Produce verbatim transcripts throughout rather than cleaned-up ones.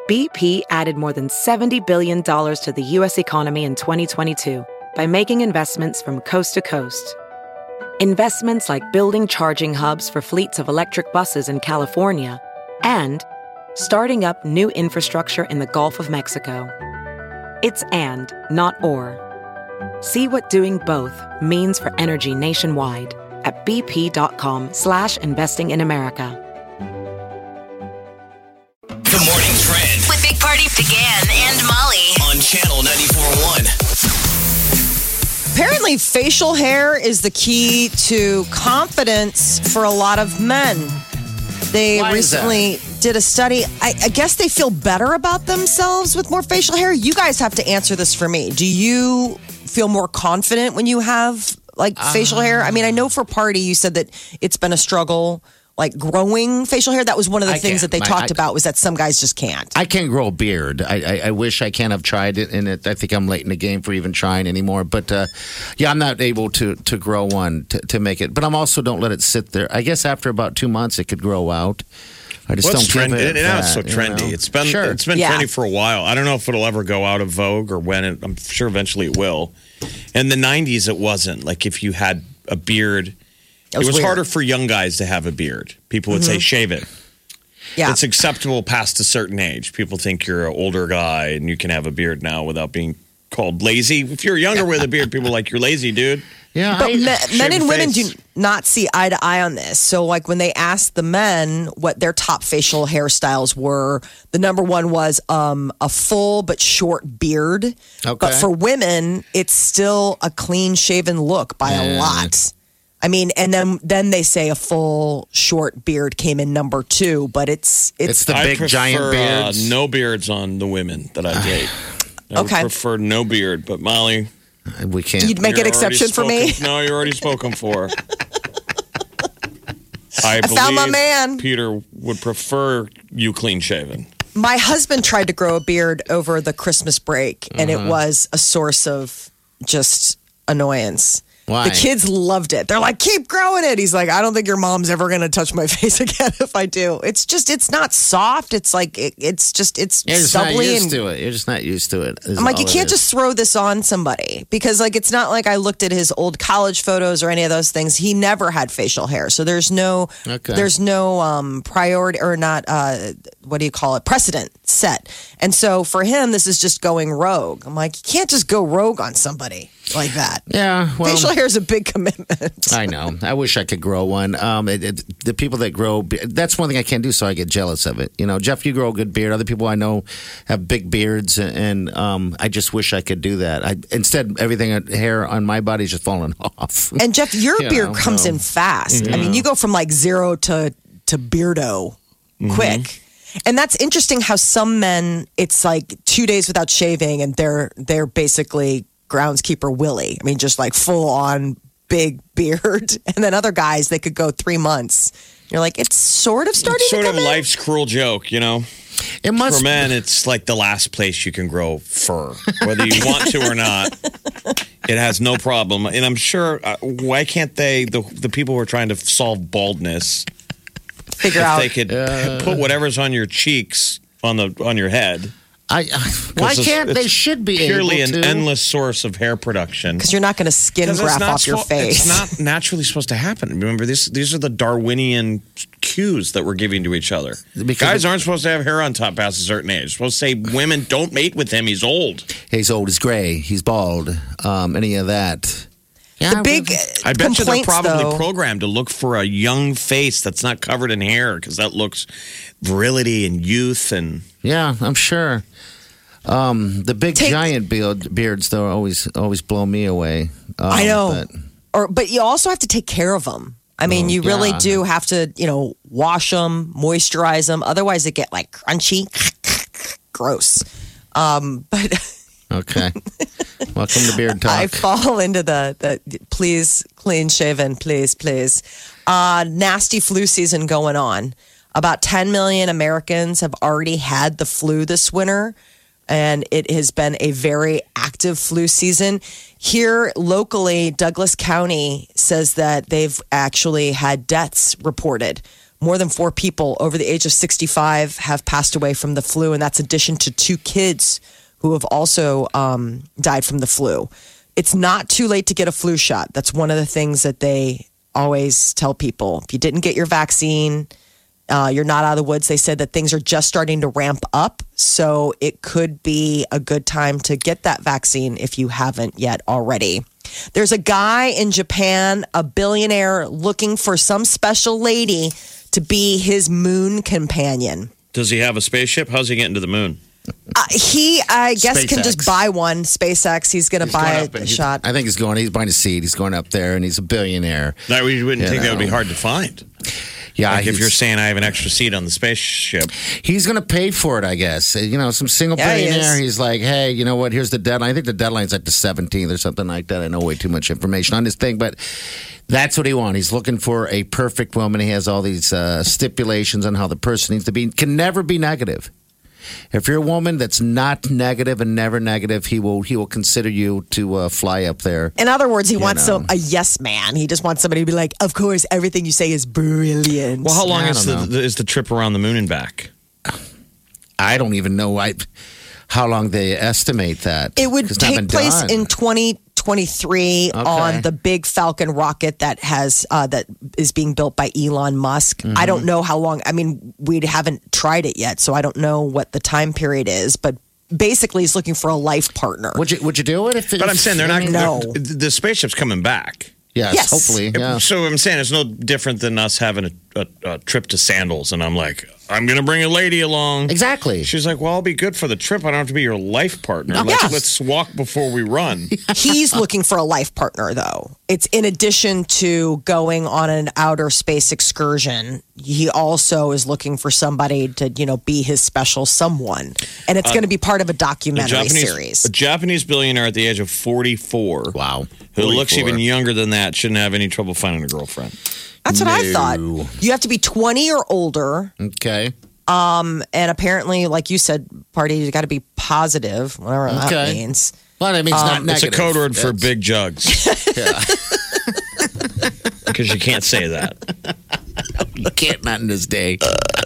B P added more than seventy billion dollars to the U S economy in twenty twenty-two by making investments from coast to coast. Investments like building charging hubs for fleets of electric buses in California and starting up new infrastructure in the Gulf of Mexico. It's and, not or. See what doing both means for energy nationwide at bp.com slash investing in America. The Morning Trend with Big Party began and Molly on Channel ninety-four point one. Apparently, facial hair is the key to confidence for a lot of men. They Why is recently did a study. I, I guess they feel better about themselves with more facial hair. You guys have to answer this for me. Do you feel more confident when you have like uh, facial hair? I mean, I know for Party, you said that it's been a struggle. Like growing facial hair, that was one of the I things can't. that they I, talked I, about was that some guys just can't. I can't grow a beard. I, I, I wish I can. Have tried it, and it, I think I'm late in the game for even trying anymore. But uh, yeah, I'm not able to to grow one to, to make it. But I'm also don't let it sit there. I guess after about two months, it could grow out. I just well, don't trendy. give it. It, now it's so that, trendy. You know? It's been sure. it's been Yeah. trendy for a while. I don't know if it'll ever go out of vogue or when. It, I'm sure eventually it will. In the nineties, it wasn't. Like if you had a beard. It was, was weird. harder for young guys to have a beard. People would say, shave it. Yeah. It's acceptable past a certain age. People think you're an older guy and you can have a beard now without being called lazy. If you're younger with a beard, people are like, you're lazy, dude. Yeah, But I, men, men and your women face. do not see eye to eye on this. So, like when they asked the men what their top facial hairstyles were, the number one was um, a full but short beard. Okay. But for women, it's still a clean shaven look by a Yeah. lot. I mean, and then then they say a full short beard came in number two, but it's it's, It's the I big prefer, giant beards. Uh, no beards on the women that I date. I would Okay. prefer no beard, but Molly, we can't. You'd make you're an exception for already me. spoken- No, you're already spoken for. I, I found my believe man. Peter would prefer you clean shaven. My husband tried to grow a beard over the Christmas break, and Uh-huh. it was a source of just annoyance. Why? The kids loved it. They're like, keep growing it. He's like, I don't think your mom's ever going to touch my face again if I do. It's just, it's not soft. It's like, it, it's just, it's You're just not stubbly. used And to it. You're just not used to it. is I'm like, all you it can't is. just throw this on somebody because, like, it's not like I looked at his old college photos or any of those things. He never had facial hair, so there's no, Okay. there's no um, priority or not. Uh, what do you call it? Precedent set. And so for him, this is just going rogue. I'm like, you can't just go rogue on somebody like that. Yeah, well, Facial hair is a big commitment. I know. I wish I could grow one. Um, it, it, the people that grow, be- that's one thing I can't do, so I get jealous of it. You know, Jeff, you grow a good beard. Other people I know have big beards, and, and um, I just wish I could do that. I, instead, everything uh, hair on my body is just falling off. And Jeff, your You beard know, comes so- in fast. I mean, you go from like zero to to beardo quick. And that's interesting how some men, it's like two days without shaving and they're they're basically groundskeeper Willie. I mean, just like full on big beard. And then other guys, they could go three months. You're like, it's sort of starting It's sort to of come in. life's cruel joke, you know? It must For men, it's like the last place you can grow fur, whether you want to or not. It has no problem. And I'm sure, uh, why can't they, the, the people who are trying to solve baldness, Figure if out. they could put whatever's on your cheeks on the on your head. I, I, why it's- can't they? it's Should be purely able an to. endless source of hair production. Because you're not going to skin 'Cause it's graft not off your spo- face. It's not naturally supposed to happen. Remember, this, these are the Darwinian cues that we're giving to each other. Because Guys it- aren't supposed to have hair on top past a certain age. They're supposed to say, women, don't mate with him. He's old. He's old, he's gray, he's bald, um, any of that. Yeah, the big I bet you they're complaints, probably though, programmed to look for a young face that's not covered in hair because that looks virility and youth and Yeah, I'm sure. Um, the big Take- giant beard, beards, though, always always blow me away. Um, I know. but- or but you also have to take care of them. I mean, Oh, you really yeah. do have to, you know, wash them, moisturize them. Otherwise, they get like crunchy, gross. Um, but Okay. Welcome to Beard Talk. I fall into the, the please clean shaven, please, please. Uh, nasty flu season going on. About ten million Americans have already had the flu this winter, and it has been a very active flu season. Here locally, Douglas County says that they've actually had deaths reported. more than four people over the age of sixty-five have passed away from the flu, and that's in addition to two kids who have also um, died from the flu. It's not too late to get a flu shot. That's one of the things that they always tell people. If you didn't get your vaccine, uh, you're not out of the woods. They said that things are just starting to ramp up, so it could be a good time to get that vaccine if you haven't yet already. There's a guy in Japan, a billionaire, looking for some special lady to be his moon companion. Does he have a spaceship? How's he getting to the moon? Uh, he, I guess, SpaceX. can just buy one. SpaceX. He's going to He's buy going a, up and a he's- shot. I think he's going. He's buying a seat. He's going up there, and he's a billionaire. No, we wouldn't You think that would be know. hard to find. Yeah, Like if he's- you're saying I have an extra seat on the spaceship. He's going to pay for it, I guess. You know, some single Yeah, he billionaire. is. He's like, hey, you know what? Here's the deadline. I think the deadline's like the seventeenth or something like that. I know way too much information on this thing, but that's what he wants. He's looking for a perfect woman. He has all these uh, stipulations on how the person needs to be. Can never be negative. If you're a woman that's not negative and never negative, he will he will consider you to uh, fly up there. In other words, he You wants know. some, a yes man. He just wants somebody to be like, of course, everything you say is brilliant. Well, how long I is the, don't know. the is the trip around the moon and back? I don't even know I, how long they estimate that. It would It's not take been place done. in twenty twenty-three Okay. on the big Falcon rocket that has uh, that is being built by Elon Musk. Mm-hmm. I don't know how long. I mean, we haven't tried it yet, so I don't know what the time period is. But basically, he's looking for a life partner. Would you Would you do it? If But I'm saying they're not. No. they're- The spaceship's coming back. Yes, Yes. hopefully. Yeah. So I'm saying it's no different than us having a, a, a trip to Sandals, and I'm like, I'm going to bring a lady along. Exactly. She's like, well, I'll be good for the trip. I don't have to be your life partner. Let's, Yes. let's walk before we run. He's looking for a life partner, though. It's in addition to going on an outer space excursion. He also is looking for somebody to, you know, be his special someone, and it's going to be part of a A documentary Japanese, series. a Japanese billionaire at the age of forty-four, Wow. who looks forty-four. even younger than that, shouldn't have any trouble finding a girlfriend. That's what I No. thought. You have to be twenty or older, Okay. and apparently, like you said, party, you got to be positive, whatever that Okay. means. Well, that means not Um, It's a negative. code word for That's- big jugs. Because you can't say that. You can't not in this day.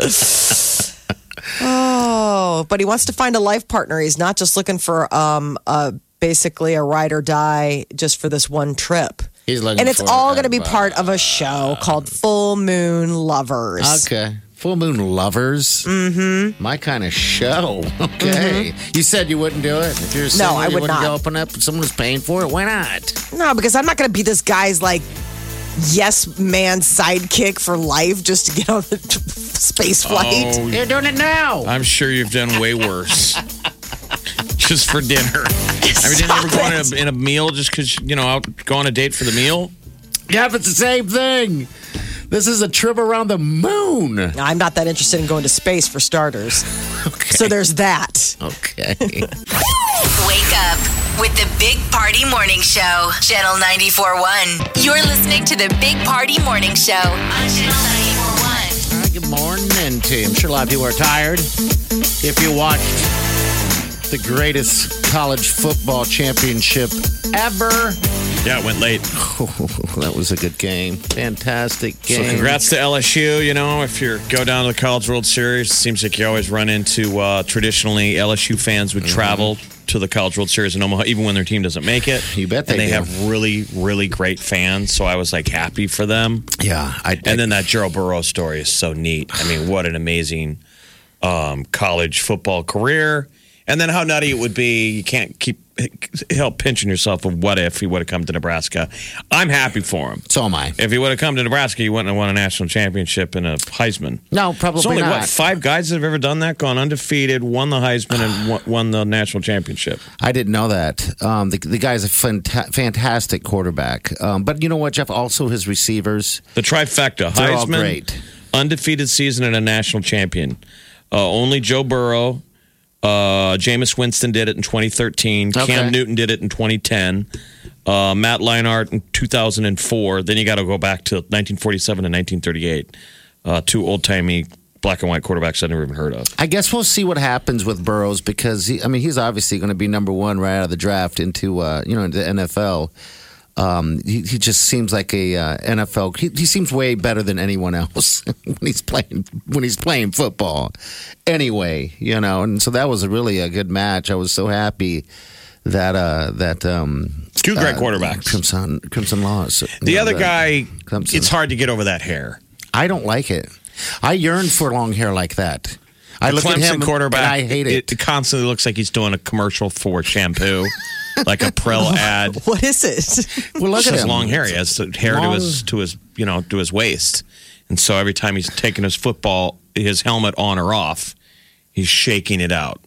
Oh, but he wants to find a life partner. He's not just looking for um, a, basically a ride or die just for this one trip. He's looking And it's for all a- going to be part of a show called Full Moon Lovers. Okay. Full Moon Lovers. Mm-hmm. My kind of show. Okay. You said you wouldn't do it. If you're single, I you would wouldn't not. go open up. Someone who's paying for it. Why not? No, because I'm not going to be this guy's like yes man sidekick for life just to get on the t- space flight. Oh, You're doing it now. I'm sure you've done way worse. Just for dinner. I mean, did you ever go on a, in a meal just because, you know, out, go on a date for the meal? Yeah, but it's the same thing. This is a trip around the moon. I'm not that interested in going to space for starters. Okay. So there's that. Okay. Wake up with the Big Party Morning Show, Channel ninety-four point one. You're listening to the Big Party Morning Show on Channel ninety-four point one. All right, good morning to you. I'm sure a lot of people are tired. If you watched the greatest college football championship ever, Yeah, it went late. oh, that was a good game. Fantastic game. So congrats to L S U. You know, if you go down to the College World Series, it seems like you always run into uh, traditionally L S U fans would travel to the College World Series in Omaha, even when their team doesn't make it. You bet they And they do. have really, really great fans. So I was like happy for them. Yeah. I, I, And then that Joe Burrow story is so neat. I mean, what an amazing um, college football career. And then how nutty it would be. You can't keep help pinching yourself of what if he would have come to Nebraska. I'm happy for him. so am I. If he would have come to Nebraska, he wouldn't have won a national championship and a Heisman. No, probably There's only, not. what, five guys that have ever done that? Gone undefeated, won the Heisman, and won, won the national championship. I didn't know that. Um, the, the guy's a fanta- fantastic quarterback. Um, but you know what, Jeff? Also, his receivers. The trifecta. They're all Heisman, great. undefeated season, and a national champion. Uh, only Joe Burrow. Uh, Jameis Winston did it in twenty thirteen. Okay. Cam Newton did it in twenty ten. Uh, Matt Leinart in two thousand four. Then you got to go back to nineteen forty-seven and nineteen thirty-eight. Uh, two old-timey black and white quarterbacks I've never even heard of. I guess we'll see what happens with Burrows because he, I mean he's obviously going to be number one right out of the draft into uh, you know into the N F L. Um, he, he just seems like a uh, N F L. He, he seems way better than anyone else when he's playing when he's playing football. Anyway, you know, and so that was a really a good match. I was so happy that uh, that um, two great uh, quarterbacks, Crimson Crimson Laws. The know, other the, guy, Clemson. It's hard to get over that hair. I don't like it. I yearn for long hair like that. I The look Clemson at him quarterback. and I hate it. It constantly looks like he's doing a commercial for shampoo, like a Prel ad. What is it? Well, look He at has him. long hair. He has the hair Long- to his to his you know to his waist, and so every time he's taking his football, his helmet on or off, he's shaking it out.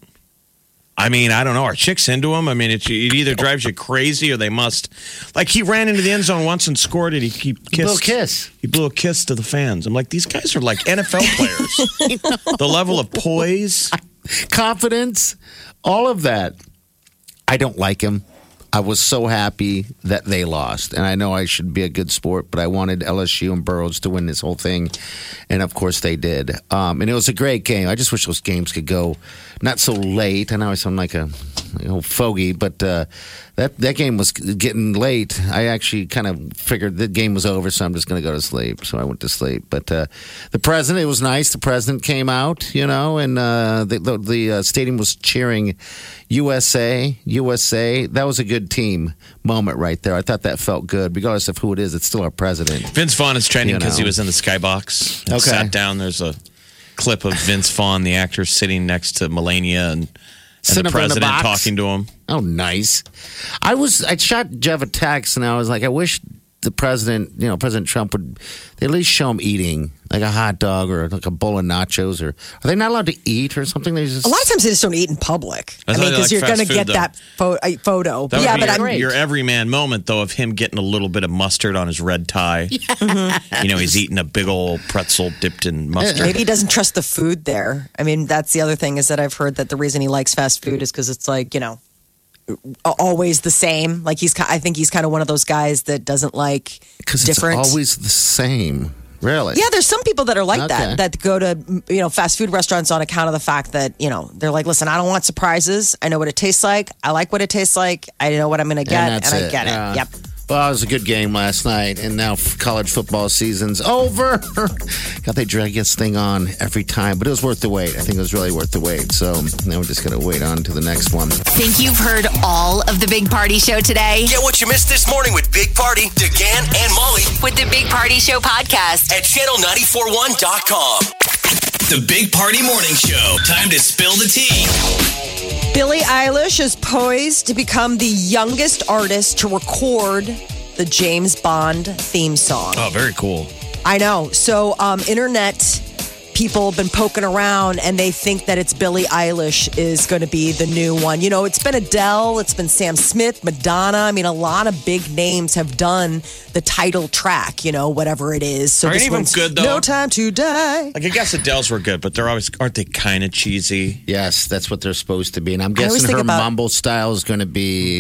I mean, I don't know. Are chicks into him? I mean, it, it either drives you crazy or they must. Like he ran into the end zone once and scored it. He, he kissed. Blew a kiss. He blew a kiss to the fans. I'm like, these guys are like N F L players. The level of poise. Confidence, all of that. I don't like him. I was so happy that they lost. And I know I should be a good sport, but I wanted L S U and Burroughs to win this whole thing. And of course they did. Um, and it was a great game. I just wish those games could go not so late. I know I sound like a you know, fogey, but uh, that, that game was getting late. I actually kind of figured the game was over, so I'm just going to go to sleep. So I went to sleep. But uh, the president, it was nice. The president came out, you know, and uh, the, the, the uh, stadium was cheering U S A, U S A. That was a good team moment right there. I thought that felt good. Regardless of who it is, it's still our president. Vince Vaughn is trending You because he know. was in the skybox. And Okay. Sat down. There's a clip of Vince Vaughn, the actor, sitting next to Melania and, and Sitting the up in the president box. talking to him. Oh, nice. I was, I shot Jeff a text and I was like, I wish the president, you know, President Trump would they at least show him eating like a hot dog or like a bowl of nachos, or are they not allowed to eat or something? They just A lot of times they just don't eat in public. I I, thought mean, they because like you're fast going to food, get though. that pho- uh, photo. That would yeah, be but your, I'm your everyman moment, though, of him getting a little bit of mustard on his red tie. You know, he's eating a big old pretzel dipped in mustard. maybe he doesn't trust the food there. I mean, that's the other thing is that I've heard that the reason he likes fast food is because it's like, you know, always the same. Like he's, ki- I think he's kind of one of those guys that doesn't like because it's different. always the same. Really? Yeah, there's some people that are like Okay. that, that go to, you know, fast food restaurants on account of the fact that, you know, they're like, listen, I don't want surprises. I know what it tastes like. I like what it tastes like. I know what I'm going to get, and, that's I it. get Yeah. it. Yep. Well, it was a good game last night, and now college football season's over. God, they drag this thing on every time, but it was worth the wait. I think it was really worth the wait. So now we're just going to wait on to the next one. Think you've heard all of the Big Party Show today? Get what you missed this morning with Big Party, DeGan, and Molly With the Big Party Show podcast. at channel nine four one dot com. The Big Party Morning Show. Time to spill the tea. Billie Eilish is poised to become the youngest artist to record the James Bond theme song. Oh, very cool. I know. So, um, internet people have been poking around and they think that it's Billie Eilish is going to be the new one. You know, it's been Adele, it's been Sam Smith, Madonna. I mean, a lot of big names have done the title track, you know, whatever it is. So Are this any of them one's good, though? No Time to Die. Like, I guess Adele's were good, but they're always, aren't they kind of cheesy? Yes, that's what they're supposed to be. And I'm I always guessing think her about- mumble style is going to be.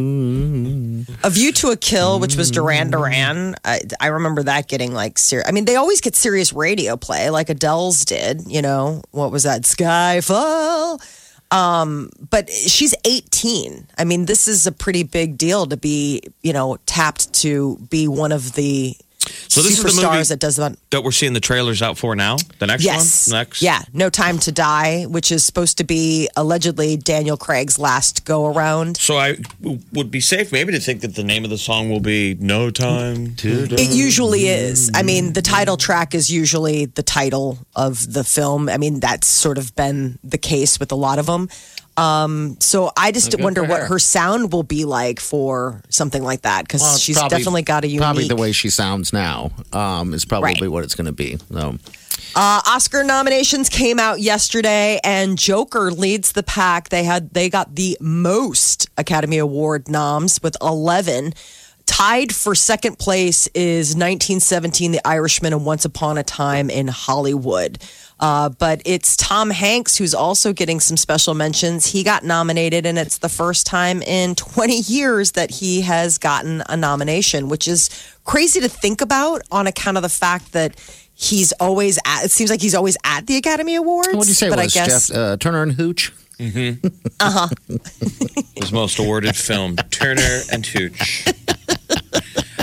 mm, A View to a Kill, which was Duran Duran. I, I remember that getting like serious. I mean, they always get serious radio play, like Adele's did. You know, what was that? Skyfall. Um, but she's eighteen. I mean, this is a pretty big deal to be, you know, tapped to be one of the So this is the movie superstars that does that. that we're seeing the trailers out for now? The next Yes. one? Next? Yeah. No Time to Die, which is supposed to be allegedly Daniel Craig's last go around. So I w- would be safe maybe to think that the name of the song will be No Time to It usually is. I mean, the title track is usually the title of the film. I mean, that's sort of been the case with a lot of them. Um, so I just Good wonder for what her. her sound will be like for something like that because Well, it's she's probably- definitely got a unique. Probably the way she sounds now um, is probably Right. what it's going to be. So. Uh, Oscar nominations came out yesterday, and Joker leads the pack. They had they got the most Academy Award noms with eleven. Tied for second place is nineteen seventeen, The Irishman, and Once Upon a Time in Hollywood. Uh, but it's Tom Hanks who's also getting some special mentions. He got nominated, and it's the first time in twenty years that he has gotten a nomination, which is crazy to think about on account of the fact that he's always at, it seems like he's always at the Academy Awards. What did you say? But It I was guess, Jeff uh, Turner and Hooch? his most awarded film, Turner and Hooch.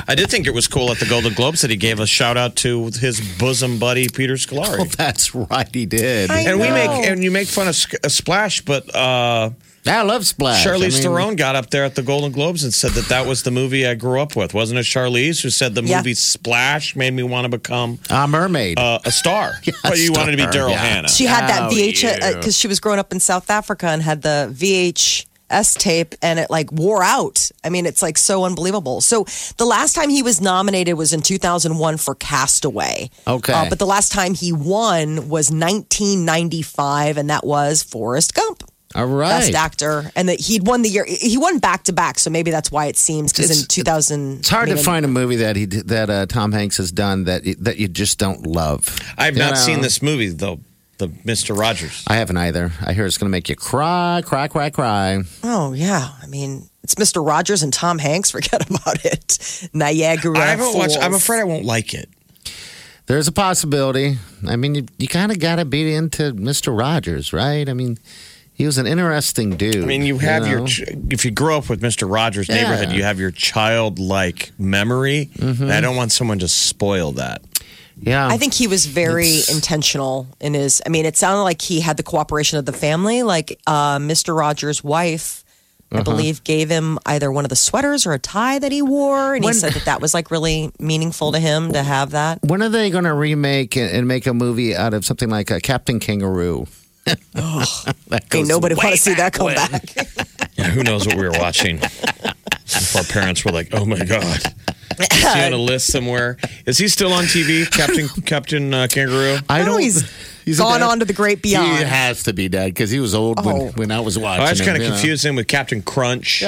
I did think it was cool at the Golden Globes that he gave a shout out to his bosom buddy Peter Scolari. Oh, that's right, he did. I and we know. make and you make fun of Sk- uh, Splash, but uh, I love Splash. Charlize I mean, Theron got up there at the Golden Globes and said that that was the movie I grew up with. Wasn't it Charlize who said the Yeah. movie Splash made me want to become A mermaid. uh, a star? But you wanted to be star, Daryl yeah. Hannah. She had that Oh, V H S yeah. because she was growing up in South Africa and had the V H S tape, and it like wore out. I mean, it's like so unbelievable. So the last time he was nominated was in two thousand one for Castaway. Okay. Uh, but the last time he won was nineteen ninety-five, and that was Forrest Gump. All right. Best actor, and that he'd won the year. He won back to back, so maybe that's why it seems because in It's- two thousand, It's hard I mean, to find a movie that he did- that uh, Tom Hanks has done that that you just don't love. I've You not know? seen this movie though. The Mister Rogers. I haven't either. I hear it's going to make you cry, cry, cry, cry. Oh yeah, I mean it's Mister Rogers and Tom Hanks. Forget about it. Niagara. I haven't watched. I'm Falls. afraid I won't like it. There's a possibility. I mean, you, you kind of got to be into Mister Rogers, right? I mean, he was an interesting dude. I mean, you have your know? ch- if you grow up with Mister Rogers' Yeah. neighborhood, you have your childlike memory. Mm-hmm. And I don't want someone to spoil that. Yeah. I think he was very It's- intentional in his. I mean, it sounded like he had the cooperation of the family. Like uh, Mister Rogers' wife, I Uh-huh. believe, gave him either one of the sweaters or a tie that he wore, and When- he said that that was like really meaningful to him to have that. When are they going to remake and and make a movie out of something like uh, Captain Kangaroo? That Ain't goes nobody way want to see that come when. back. Yeah, who knows what we were watching? If our parents were like, "Oh my god." Is he on a list somewhere? Is he still on T V, Captain Captain uh, Kangaroo? I No, don't. he's he's gone dead. on to the great beyond. He has to be dead because he was old Oh. when, when I was watching. Oh, I just him, kind of you know. confused him with Captain Crunch.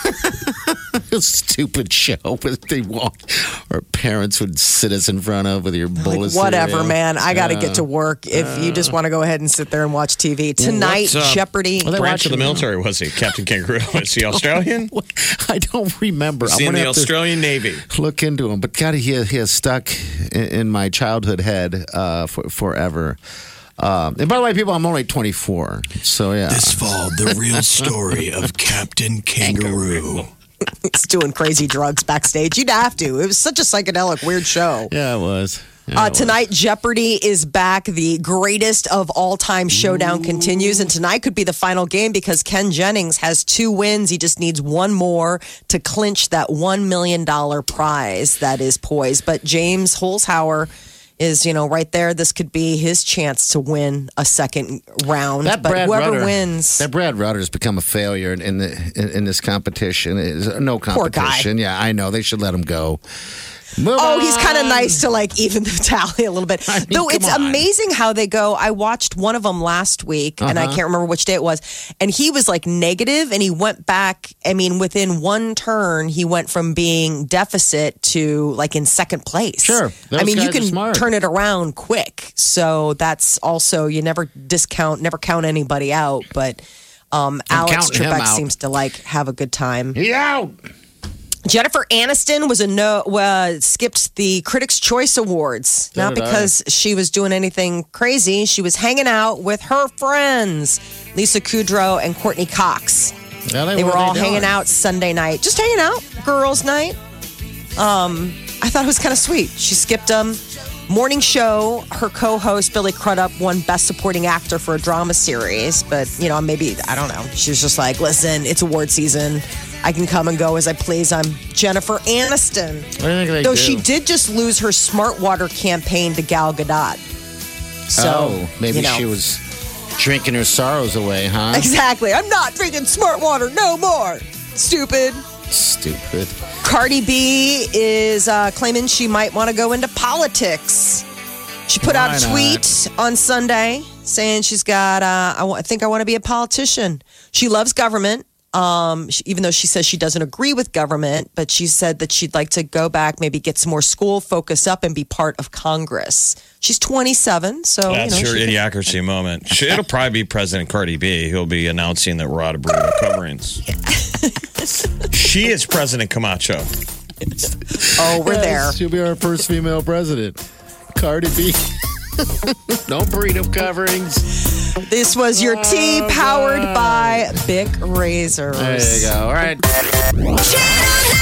A stupid show that they want our parents would sit us in front of with your bowl Like, of whatever, cereal. man. I got to Yeah. get to work. If you just want to go ahead and sit there and watch T V tonight, What's, uh, Jeopardy. Well, they Branch of the watching- military was he? Captain Kangaroo. Is he Australian? I don't remember. Is he I'm in gonna the have to Australian Navy? look into him, but God, he has, he has stuck in, in my childhood head uh, for, forever. Um, and by the way, people, I'm only twenty-four, so yeah. This fall, the real story of Captain Kangaroo. He's doing crazy drugs backstage. You'd have to. It was such a psychedelic, weird show. Yeah, it was. Yeah, Uh, it was. tonight, Jeopardy is back. The greatest of all time showdown continues. And tonight could be the final game because Ken Jennings has two wins. He just needs one more to clinch that one million dollars prize that is poised. But James Holzhauer is, you know, right there. This could be his chance to win a second round. That but Brad whoever Rutter, wins. That Brad Rutter's become a failure in, in the in, in this competition. It's no Poor guy. competition. Yeah, I know they should let him go. Move Oh, he's kind of on. nice to like even the tally a little bit. I mean, Though come it's on. amazing how they go. I watched one of them last week and I Uh-huh. can't remember which day it was. And he was like negative and he went back. I mean, within one turn, he went from being deficit to like in second place. Sure. Those I mean, you guys are can smart. turn it around quick. So that's also, you never discount, never count anybody out. But um, I'm Alex counting him Trebek out. seems to like have a good time. He out. Jennifer Aniston was a no, uh, skipped the Critics' Choice Awards. So Not did I. because she was doing anything crazy. She was hanging out with her friends, Lisa Kudrow and Courtney Cox. Yeah, They were what are all they hanging doing? out Sunday night, just hanging out, girls' night. Um, I thought it was kind of sweet. She skipped them. Morning show, her co-host Billy Crudup won Best Supporting Actor for a drama series, but you know, maybe I don't know. She was just like, "Listen, it's award season. I can come and go as I please. I'm Jennifer Aniston." What do you think they Though do? she did just lose her Smart Water campaign to Gal Gadot. So oh, maybe you know. she was drinking her sorrows away, huh? Exactly. I'm not drinking Smart Water no more. Stupid. Stupid. Cardi B is uh, claiming she might want to go into politics. She put out a Why tweet on Sunday saying she's got, uh, I, wa- I think I want to be a politician. She loves government, um, she, even though she says she doesn't agree with government, but she said that she'd like to go back, maybe get some more school, focus up, and be part of Congress. She's twenty-seven, so That's you know, your she can- idiocracy moment. She- It'll probably be President Cardi B. He'll be announcing that we're out of burrito coverings. She is President Camacho. Oh, we're there. She'll be our first female president. Cardi B. No burrito coverings. This was your tea powered by Bic Razors. There you go. All right. Channel